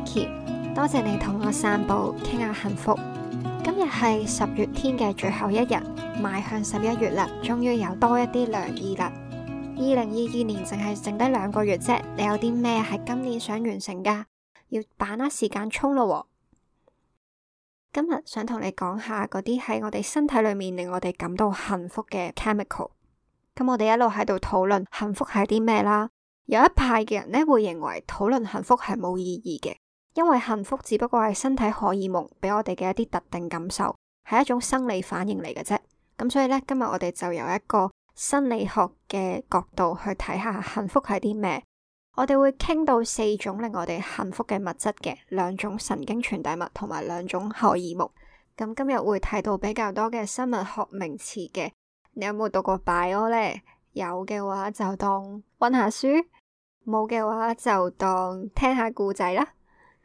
Vicky， 多謝你同我散步傾下幸福。今日係10月天嘅最後一日，邁向11月啦，終於有多一啲涼意啦。2022年淨係剩低2個月啫，你有啲咩係今年想完成噶？要把握時間衝咯。今日想同你講下嗰啲喺我哋身體裏面令我哋感到幸福嘅 chemical。咁我哋一路喺度討論幸福係啲咩啦。有一派嘅人呢會認為討論幸福係冇意義嘅，因為幸福只不過係身體荷爾蒙俾我哋嘅一啲特定感受，係一種生理反應嚟嘅啫。咁所以呢，今日我哋就由一個生理學嘅角度去睇下幸福係啲咩。我哋會傾到4種令我哋幸福嘅物質嘅，2種神經傳遞物同埋2種荷爾蒙。咁今日會睇到比較多嘅生物學名詞嘅。你有冇讀過 bio 呢？有嘅話就當溫下書，冇嘅話就當聽下故仔啦。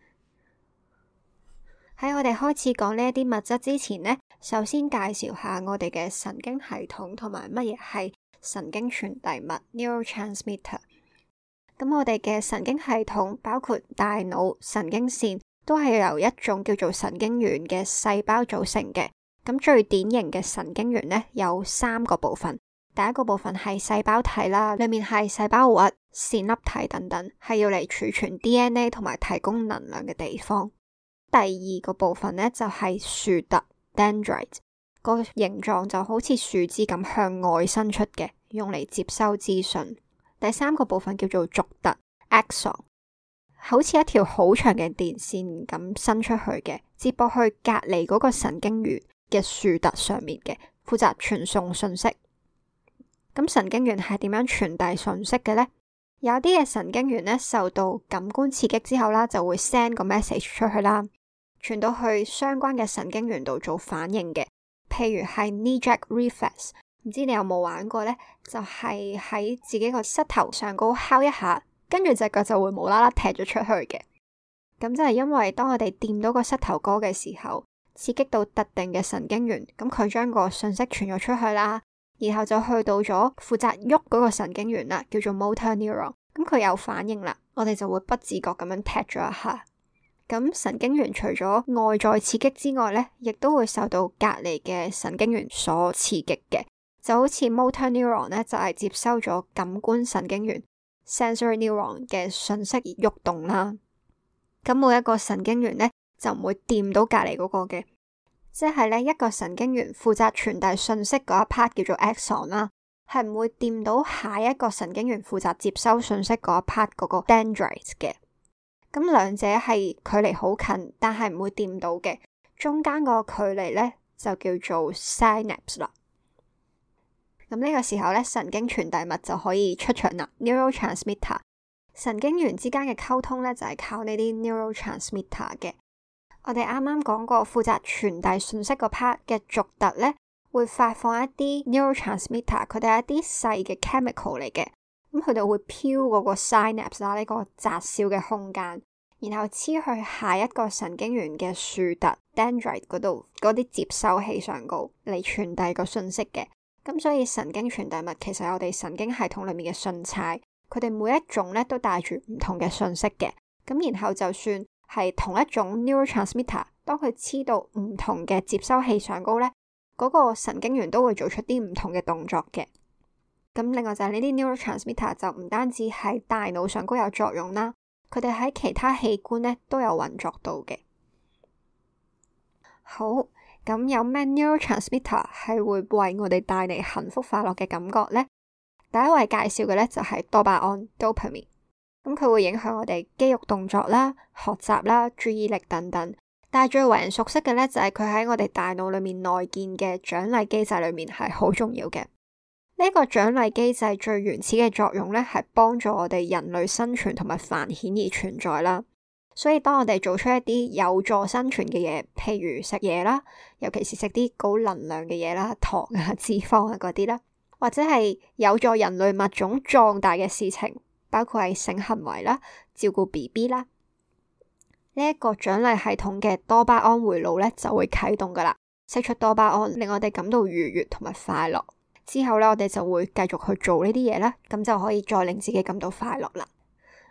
喺我哋開始講呢一啲物質之前呢，首先介紹下我哋嘅神經系統同埋乜嘢係神經傳遞物 neurotransmitter。咁我哋嘅神經系統包括大腦、神經線，都係由一種叫做神經元嘅細胞組成嘅。咁最典型嘅神經元呢，有3個部分。第一個部分係細胞體啦，裏面係細胞核、線粒體等等，係要嚟儲存 DNA 同埋提供能量嘅地方。第二個部分呢，就係樹突 dendrite， 個形狀就好似樹枝咁向外伸出嘅，用嚟接收資訊。第三個部分叫做軸突 axon， 好似一條好長嘅電線咁伸出去嘅，接駁去隔離嗰個神經元嘅樹突上面嘅，負責傳送信息。咁神經元係點樣傳遞信息嘅呢？有啲嘅神經元呢，受到感官刺激之後啦，就會 send 個 message 出去啦，傳到去相關嘅神經元度做反應嘅。譬如係 knee jerk reflex， 唔知你有冇玩過呢？就係喺自己個膝頭上高敲一下，跟住隻腳就會無啦啦踢咗出去嘅。咁就係因為當我哋掂到個膝頭哥嘅時候，刺激到特定嘅神經元，咁佢將個信息傳咗出去啦。然後就去到咗負責喐嗰個神經元啦，叫做 motor neuron。咁佢有反應啦，我哋就會不自覺咁樣踢咗一下。咁神經元除咗外在刺激之外呢，亦都會受到隔離嘅神經元所刺激嘅。就好似 motor neuron 呢，就係接收咗感官神經元 sensory neuron 嘅信息而喐動啦。咁每一個神經元呢，就唔會掂到隔離嗰個嘅。即係呢一個神經元負責傳遞信息嗰一 part 叫做 axon 啦，係唔會掂到下一個神經元負責接收信息嗰一 part 嗰個 dendrite 嘅。咁兩者係距離好近，但係唔會掂到嘅，中間個距離呢，就叫做 synapse 啦。咁呢個時候呢，神經傳遞物就可以出場啦。neurotransmitter 神經元之間嘅溝通呢，就係靠呢啲 neurotransmitter 嘅。我哋啱啱講過，負責傳遞信息個 part 嘅軸突呢，會發放一啲 neurotransmitter， 佢哋係一啲細嘅 chemical 嚟嘅。咁佢哋會飄嗰個 synapse 啦，呢個窄小嘅空間，然後黐去下一個神經元嘅樹突 dendrite 嗰度，嗰啲接收器上高嚟傳遞個信息嘅。咁所以神經傳遞物其實係我哋神經系統裏面嘅信差，佢哋每一種呢都帶住唔同嘅信息嘅。咁然後就算係同一種 neurotransmitter， 當佢黐到唔同嘅接收器上高呢，嗰個神經元都會做出啲唔同嘅動作嘅。咁另外就係呢啲 neurotransmitter 就唔單止喺大腦上高有作用啦，佢哋喺其他器官呢都有運作到嘅。好，咁有咩 neurotransmitter 係會為我哋帶嚟幸福快樂嘅感覺呢？第一位介紹嘅呢就係多巴胺 dopamine。咁佢會影響我哋肌肉動作啦、學習啦、注意力等等。但係最為人熟悉嘅呢，就係佢喺我哋大腦裏面內建嘅獎勵機制裏面係好重要嘅。呢個獎勵機制最原始嘅作用呢，係幫助我哋人類生存同埋繁衍而存在啦。所以當我哋做出一啲有助生存嘅嘢，譬如食嘢啦，尤其是食啲高能量嘅嘢啦，糖啊、脂肪啊嗰啲啦，或者係有助人類物種壯大嘅事情，包括係性行為啦、照顧 BB 啦，呢一個獎勵系統嘅多巴胺回路呢就會啟動噶啦，釋出多巴胺令我哋感到愉悅同埋快樂。之後呢，我哋就會繼續去做呢啲嘢啦，咁就可以再令自己感到快樂啦。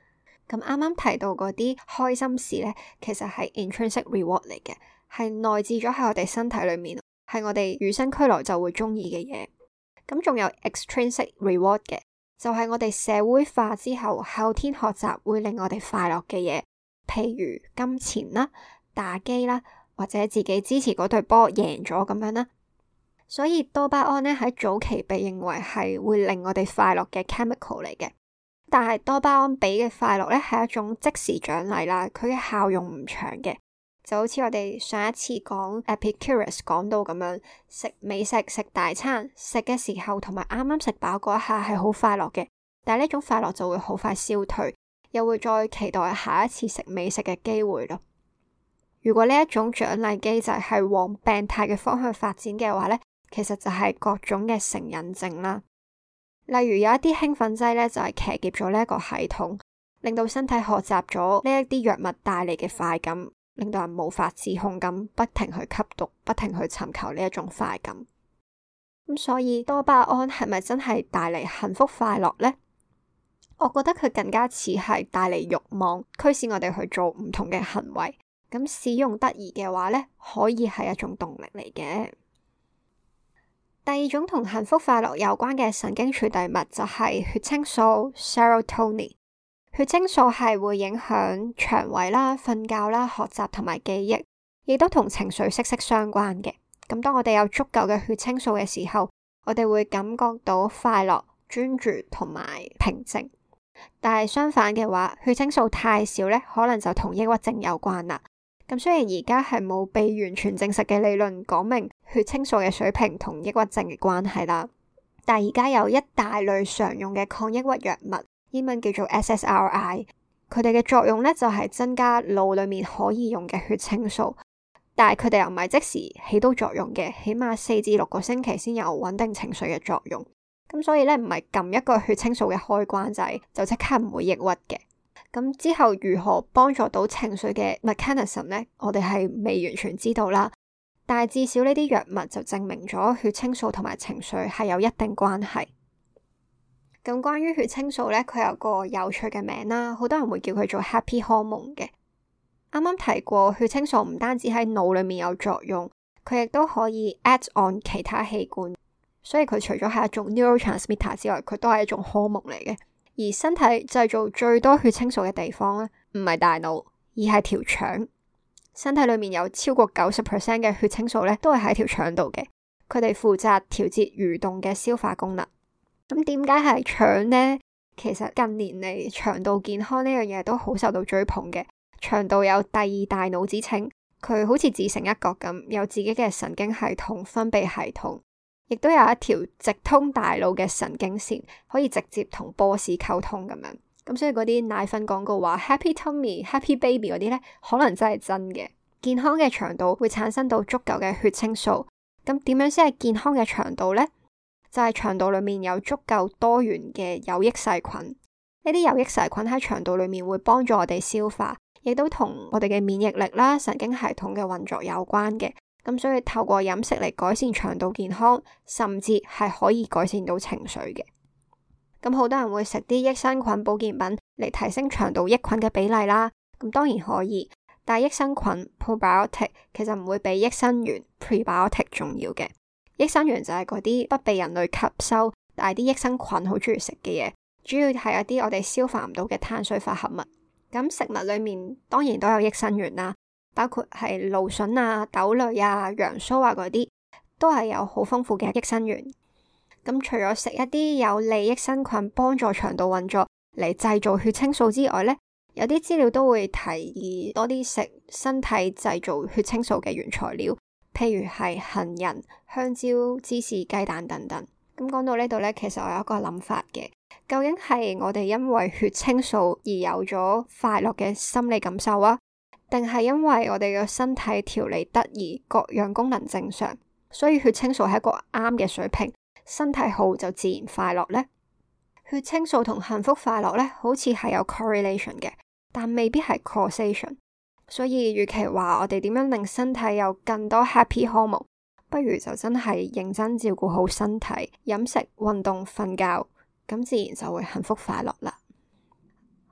咁啱啱提到嗰啲開心事呢，其實係 intrinsic reward 嚟嘅，係內置咗喺我哋身體裏面，係我哋與生俱來就會中意嘅嘢。咁仲有 extrinsic reward 嘅，就係我哋社會化之後後天學習會令我哋快樂嘅嘢，譬如金錢啦、打機啦，或者自己支持嗰隊波贏咗咁樣啦。所以多巴胺呢，喺早期被認為係會令我哋快樂嘅 chemical 嚟嘅。但係多巴胺俾嘅快樂呢，係一種即時獎勵啦，佢嘅效用唔長嘅，就好似我哋上一次講 Epicurus 講到咁樣，食美食食大餐，食嘅時候同埋啱啱食飽嗰一下係好快樂嘅，但係呢種快樂就會好快消退，又會再期待下一次食美食嘅機會咯。如果呢一種獎勵機制係往病態嘅方向發展嘅話呢，其實就係各種嘅成癮症啦。例如有一啲興奮劑呢，就係騎劫咗呢一個系統，令到身體學習咗呢一啲藥物帶嚟嘅快感，令到人無法自控咁不停去吸毒，不停去尋求呢一種快感。咁所以多巴胺係咪真係帶嚟幸福快樂呢？我覺得佢更加似係帶嚟慾望，驅使我哋去做唔同嘅行為。咁使用得宜嘅話呢，可以係一種動力嚟嘅。第二種同幸福快樂有關嘅神經傳遞物就係血清素 serotonin。血清素係會影響腸胃啦、瞓覺啦、學習同埋記憶，亦都同情緒息息相關嘅。咁當我哋有足夠嘅血清素嘅時候，我哋會感覺到快樂、專注同埋平靜。但係相反嘅話，血清素太少呢，可能就同抑鬱症有關啦。咁雖然而家係冇被完全證實嘅理論講明血清素嘅水平同抑鬱症嘅關係啦，但係而家有一大類常用嘅抗抑鬱藥物，英文叫做 SSRI， 佢哋嘅作用呢，就係增加腦裏面可以用嘅血清素，但係佢哋又唔係即時起到作用嘅，起碼4至6個星期先有穩定情緒嘅作用。咁所以呢，唔係撳一個血清素嘅開關掣就即刻唔會抑鬱嘅。咁之後如何幫助到情緒嘅 mechanism 呢？我哋係未完全知道啦。但係至少呢啲藥物就證明咗血清素同埋情緒係有一定關係。咁關於血清素呢，佢有個有趣嘅名啦，好多人會叫佢做 happy hormone 嘅。啱啱提過，血清素唔單止喺腦裏面有作用，佢亦都可以 add on 其他器官，所以佢除咗係一種 neurotransmitter 之外，佢都係一種 hormone 嚟嘅。而身體製造最多血清素嘅地方呢，唔係大腦，而係條腸。身體裏面有超過 90% 嘅血清素呢，都係喺條腸度嘅。佢哋負責調節蠕動嘅消化功能。咁點解係腸呢？其實近年嚟腸道健康呢樣嘢都好受到追捧嘅。腸道有第二大腦之稱，佢好似自成一角咁，有自己嘅神經系統、分泌系統。亦都有一條直通大腦嘅神經線，可以直接同 boss 溝通咁樣。咁所以嗰啲奶粉廣告話 Happy Tummy、Happy Baby 嗰啲呢，可能真係真嘅。健康嘅腸道會產生到足夠嘅血清素。咁點樣先係健康嘅腸道呢？就係腸道裏面有足夠多元嘅有益細菌。呢啲有益細菌喺腸道裏面會幫助我哋消化，亦都同我哋嘅免疫力啦、神經系統嘅運作有關嘅。咁所以透過飲食嚟改善腸道健康，甚至係可以改善到情緒嘅。咁好多人會食啲益生菌保健品嚟提升腸道益菌嘅比例啦。咁當然可以，但係益生菌 probiotic 其實唔會比益生元 prebiotic 重要嘅。益生元就係嗰啲不被人類吸收，但係啲益生菌好中意食嘅嘢，主要係一啲我哋消化唔到嘅碳水化合物。咁食物裏面當然都有益生元啦。包括係蘆筍啊、豆類啊、洋酥啊嗰啲，都係有好豐富嘅益生元。咁除咗食一啲有利益生菌幫助腸道運作嚟製造血清素之外呢，有啲資料都會提議多啲食身體製造血清素嘅原材料，譬如係杏仁、香蕉、芝士、雞蛋等等。咁講到呢度呢，其實我有一個諗法嘅，究竟係我哋因為血清素而有咗快樂嘅心理感受啊？定係因為我哋嘅身體調理得宜，各樣功能正常，所以血清素係一個啱嘅水平，身體好就自然快樂呢？血清素同幸福快樂呢，好似係有 correlation 嘅，但未必係 causation。所以與其話我哋點樣令身體有更多 happy hormone，不如就真係認真照顧好身體，飲食、運動、瞓覺，咁自然就會幸福快樂啦。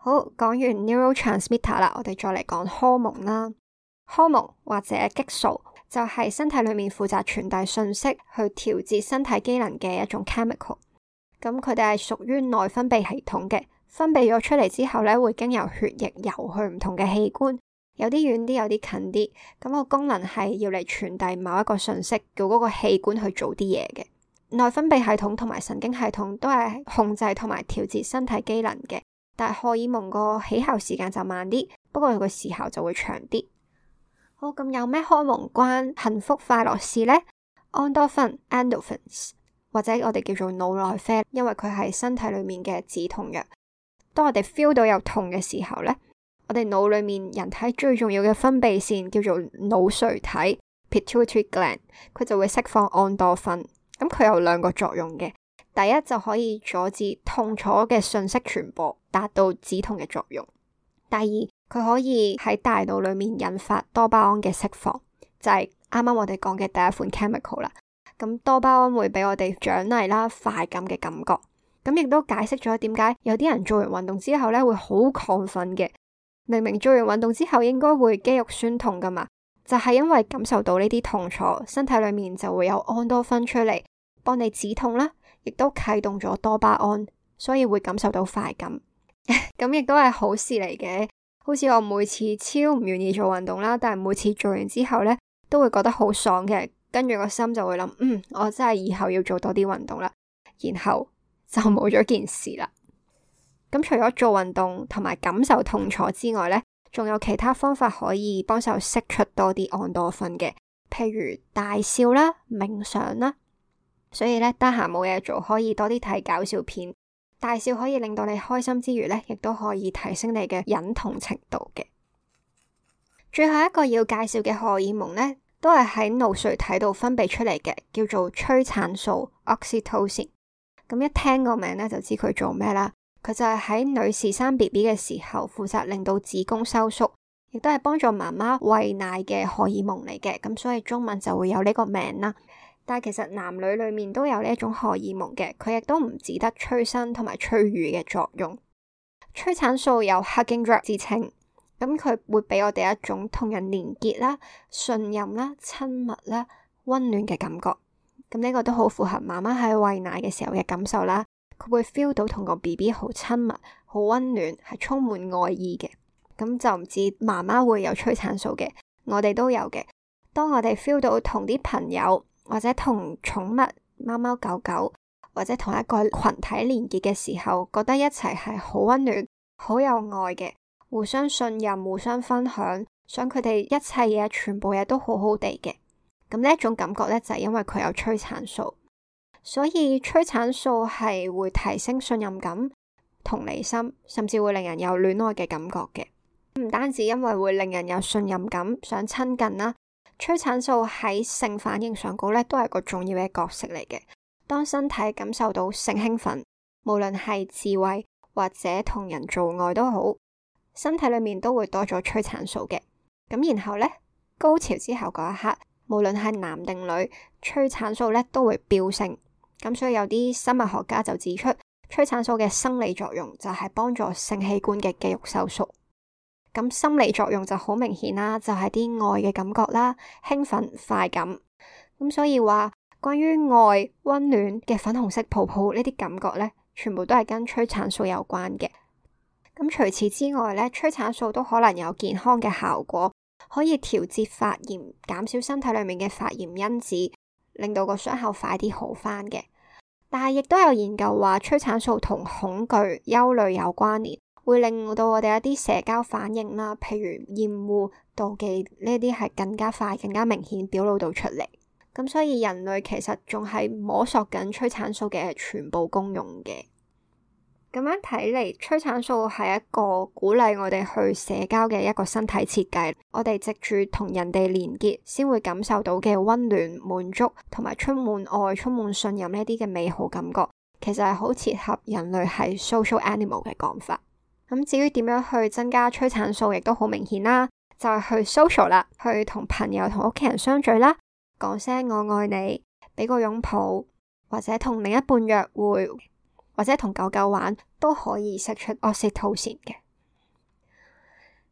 好，講完 neurotransmitter 啦，我哋再嚟講荷蒙啦。荷蒙或者激素就係身體裏面負責傳遞信息去調節身體機能嘅一種 chemical。咁佢哋係屬於內分泌系統嘅，分泌咗出嚟之後呢，會經由血液游去唔同嘅器官，有啲遠啲，有啲近啲。咁個功能係要嚟傳遞某一個信息，叫嗰個器官去做啲嘢嘅。內分泌系統同埋神經系統都係控制同埋調節身體機能嘅，但係荷爾蒙個起效時間就慢啲，不過佢個時效就會長啲。好，咁有咩荷蒙關幸福快樂事呢？安多芬 endorphins 或者我哋叫做腦內啡，因為佢係身體裏面嘅止痛藥。當我哋 feel 到有痛嘅時候呢，我哋腦裏面人體最重要嘅分泌腺叫做腦垂體 pituitary gland， 佢就會釋放安多芬。咁佢有兩個作用嘅，第一就可以阻止痛楚嘅信息傳播，達到止痛嘅作用。第二，佢可以喺大腦裏面引發多巴胺嘅釋放，就係啱啱我哋講嘅第一款 chemical 啦。咁多巴胺會俾我哋獎勵啦、快感嘅感覺。咁亦都解釋咗點解有啲人做完運動之後呢會好亢奮嘅。明明做完運動之後應該會肌肉酸痛噶嘛，就係因為感受到呢啲痛楚，身體裏面就會有安多芬出嚟幫你止痛啦，亦都啟動咗多巴胺，所以會感受到快感。咁亦都係好事嚟嘅。好似我每次超唔願意做運動啦，但係每次做完之後呢，都會覺得好爽嘅，跟住個心就會諗，我真係以後要做多啲運動啦，然後就冇咗件事啦。咁除咗做運動同埋感受痛楚之外呢，仲有其他方法可以幫手釋出多啲安多芬嘅，譬如大笑啦、冥想啦。所以呢，得閒冇嘢做，可以多啲睇搞笑片。大笑可以令到你開心之餘呢，亦都可以提升你嘅忍痛程度嘅。最後一個要介紹嘅荷爾蒙呢，都係喺腦垂體度分泌出嚟嘅，叫做催產素 oxytocin。咁一聽個名呢，就知佢做咩啦。佢就係喺女士生 BB 嘅時候負責令到子宮收縮，亦都係幫助媽媽餵奶嘅荷爾蒙嚟嘅。咁所以中文就會有呢個名啦。但係其實男女裏面都有呢一種荷爾蒙嘅，佢亦都唔只得催生同埋催乳嘅作用。催產素有 hugging drug 之稱，咁佢會俾我哋一種同人連結啦、信任啦、親密啦、溫暖嘅感覺。咁呢個都好符合媽媽喺餵奶嘅時候嘅感受啦。佢會 feel 到同個 BB 好親密、好溫暖，係充滿愛意嘅。咁就唔止媽媽會有催產素嘅，我哋都有嘅。當我哋 feel 到同啲朋友或者同寵物貓貓狗狗或者同一個群體連結嘅時候，覺得一齊係好溫暖、好有愛嘅，互相信任、互相分享，想佢哋一切嘢、全部嘢都好好地嘅。咁呢一種感覺呢，就係因為佢有催產素。所以催產素係會提升信任感、同理心，甚至會令人有戀愛嘅感覺嘅。唔單止因為會令人有信任感、想親近啦，催產素喺性反應上高呢都係個重要嘅角色嚟嘅。當身體感受到性興奮，無論係自慰或者同人做愛都好，身體裏面都會多咗催產素嘅。咁然後呢，高潮之後嗰一刻，無論係男定女，催產素呢都會飆升。咁所以有啲生物學家就指出，催產素嘅生理作用就係幫助性器官嘅肌肉收縮。咁心理作用就好明顯啦，就係啲愛嘅感覺啦、興奮、快感。咁所以話關於愛、溫暖嘅粉紅色泡泡呢啲感覺呢，全部都係跟催產素有關嘅。咁除此之外呢，催產素都可能有健康嘅效果，可以調節發炎，減少身體裏面嘅發炎因子，令到個傷口快啲好返嘅。但係亦都有研究話，催產素同恐懼、憂慮有關聯，會令到我哋一啲社交反應啦，譬如厭惡、妒忌呢啲係更加快、更加明顯表露到出嚟。咁所以人類其實仲係摸索緊催產素嘅全部功用嘅。咁樣睇嚟，催產素係一個鼓勵我哋去社交嘅一個身體設計。我哋藉住同人哋連結，先會感受到嘅溫暖、滿足同埋充滿愛、充滿信任呢啲嘅美好感覺，其實係好切合人類係 social animal 嘅講法。咁至於點樣去增加催產素，亦都好明顯啦，就係去 social 啦，去同朋友同屋企人相聚啦，講聲我愛你，俾個擁抱，或者同另一半約會，或者同狗狗玩，都可以釋出 oxytocin 嘅。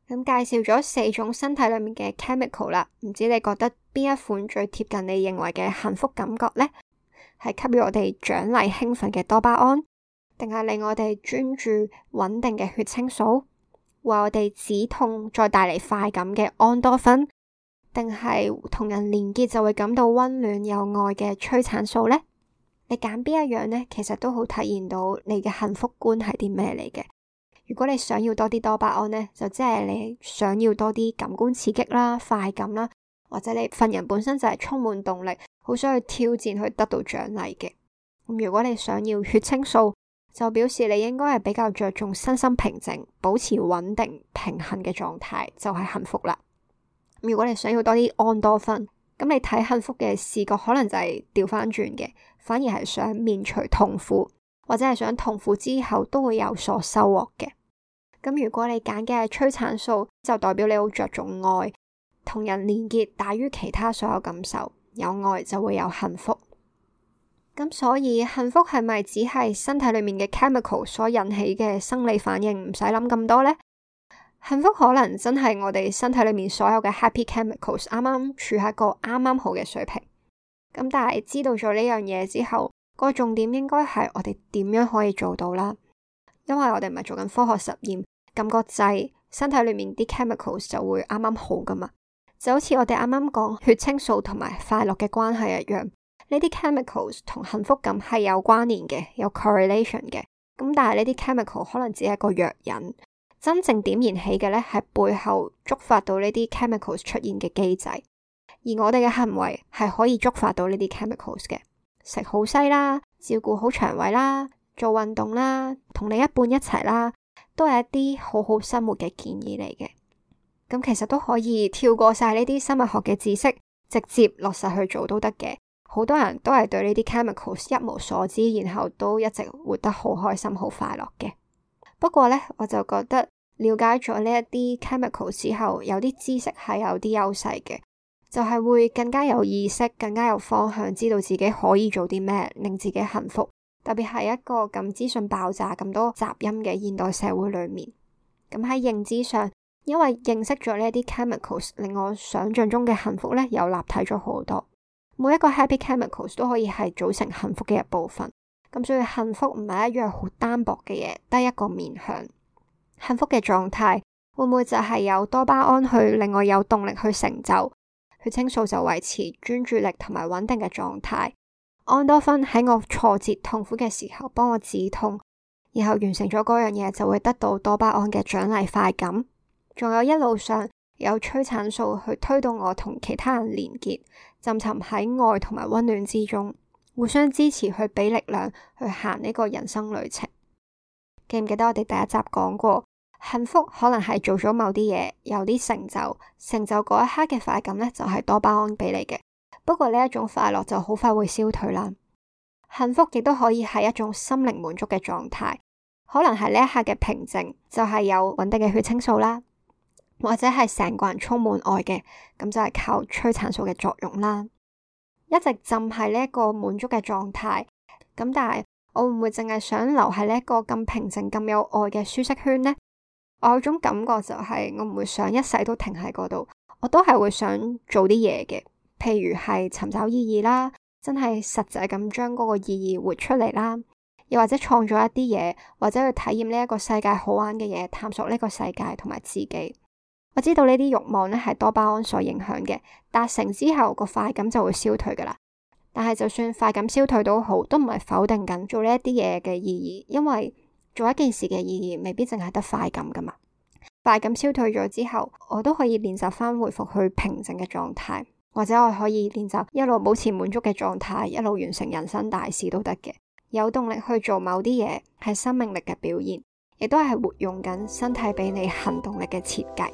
咁介紹咗4種身體裏面嘅 chemical 啦，唔知你覺得邊一款最貼近你認為嘅幸福感覺呢？係給予我哋獎勵興奮嘅多巴胺，定係令我哋專注穩定嘅血清素，為我哋止痛再帶嚟快感嘅安多芬，定係同人連結就會感到溫暖有愛嘅催產素呢？你揀邊一樣呢？其實都好體現到你嘅幸福觀係啲咩嚟嘅。如果你想要多啲多巴胺呢，就即係你想要多啲感官刺激啦、快感啦，或者你份人本身就係充滿動力，好想去挑戰去得到獎勵嘅。咁如果你想要血清素，就表示你應該係比較着重身心平靜、保持穩定平衡嘅狀態，就係幸福啦。如果你想要多啲安多芬，咁你睇幸福嘅視覺可能就係調翻轉嘅，反而係想免除痛苦，或者係想痛苦之後都會有所收穫嘅。咁如果你揀嘅係催產素，就代表你好着重愛，同人連結大於其他所有感受，有愛就會有幸福。咁所以幸福係咪只係身體裏面嘅 chemical 所引起嘅生理反應，唔使諗咁多呢？幸福可能真係我哋身體裏面所有嘅 happy chemicals 啱啱處喺一個啱啱好嘅水平。咁但係知道咗呢樣嘢之後，個重點應該係我哋點樣可以做到啦。因為我哋唔係做緊科學實驗，撳個掣，身體裏面啲 chemicals 就會啱啱好噶嘛。就好似我哋啱啱講血清素同埋快樂嘅關係一樣，呢啲 chemicals 同幸福感係有關聯嘅，有 correlation 嘅。咁但係呢啲 chemical 可能只係一個藥引。真正點燃起嘅呢，係背後觸發到呢啲 chemicals 出現嘅機制，而我哋嘅行為係可以觸發到呢啲 chemicals 嘅。食好西啦，照顧好腸胃啦，做運動啦，同另一半一齊啦，都係一啲好好生活嘅建議嚟嘅。咁其實都可以跳過晒呢啲生物學嘅知識，直接落實去做都得嘅。好多人都係對呢啲 chemicals 一無所知，然後都一直活得好開心、好快樂嘅。不過呢，我就覺得了解咗呢一啲 chemical 之後，有啲知識係有啲優勢嘅，就係會更加有意識、更加有方向，知道自己可以做啲咩，令自己幸福。特別係一個咁資訊爆炸、咁多雜音嘅現代社會裏面，咁喺認知上，因為認識咗呢一啲 chemicals，令我想象中嘅幸福呢又立體咗好多。每一個 happy chemicals 都可以係組成幸福嘅一部分。咁所以幸福唔係一樣好單薄嘅嘢，得一個面向。幸福嘅狀態會唔會就係有多巴胺去令我有動力去成就，血清素就維持專注力同埋穩定嘅狀態，安多芬喺我挫折痛苦嘅時候幫我止痛，然後完成咗嗰樣嘢就會得到多巴胺嘅獎勵快感，仲有一路上有催產素去推動我同其他人連結，浸沉喺愛同埋溫暖之中，互相支持去俾力量去行呢個人生旅程。記唔記得我哋第一集講過，幸福可能係做咗某啲嘢，有啲成就，成就嗰一刻嘅快感呢，就係多巴胺俾你嘅。不過呢一種快樂就好快會消退啦。幸福亦都可以係一種心靈滿足嘅狀態，可能係呢一刻嘅平靜，就係有穩定嘅血清素啦，或者係成個人充滿愛嘅，咁就係靠催產素嘅作用啦。一直浸喺呢一個滿足嘅狀態，咁但係我會唔會淨係想留喺呢一個咁平靜、咁有愛嘅舒適圈呢？我有種感覺就係我唔會想一世都停喺嗰度，我都係會想做啲嘢嘅，譬如係尋找意義啦，真係實際咁將嗰個意義活出嚟啦，又或者創造一啲嘢，或者去體驗呢一個世界好玩嘅嘢，探索呢個世界同埋自己。我知道呢啲慾望呢係多巴胺所影響嘅，達成之後個快感就會消退噶啦。但係就算快感消退都好，都唔係否定緊做呢一啲嘢嘅意義，因為做一件事嘅意義未必淨係得快感噶嘛。快感消退咗之後，我都可以練習翻回復去平靜嘅狀態，或者我可以練習一路保持滿足嘅狀態，一路完成人生大事都得嘅。有動力去做某啲嘢，係生命力嘅表現，亦都係活用緊身體俾你行動力嘅設計。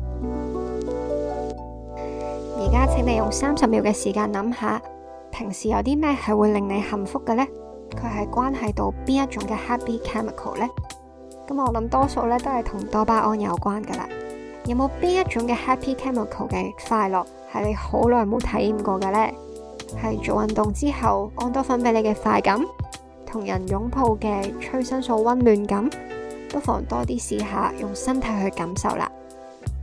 而家請你用30秒嘅時間諗下，平時有啲咩係會令你幸福嘅呢？佢係關係到邊一種嘅 happy chemical 呢？咁我諗多數咧都係同多巴胺有關噶啦。有冇邊一種嘅 happy chemical 嘅快樂係你好耐冇體驗過嘅呢？係做運動之後安多芬俾你嘅快感，同人擁抱嘅催生素溫暖感，不妨多啲試下用身體去感受啦。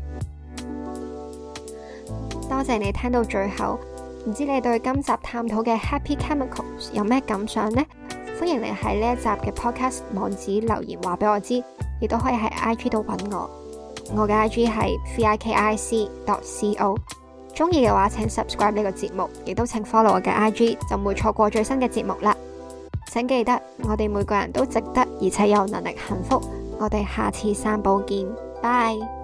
多謝你聽到最後。唔知你對今集探討嘅 Happy Chemicals 有咩感想呢？歡迎你喺呢一集嘅 podcast 網址留言話俾我知，亦都可以喺 IG 度揾我。我嘅 IG 係 vikic.co。中意嘅話請 subscribe 呢個節目，亦都請 follow 我嘅 IG， 就唔會錯過最新嘅節目啦。請記得，我哋每個人都值得而且有能力幸福。我哋下次散步見，拜。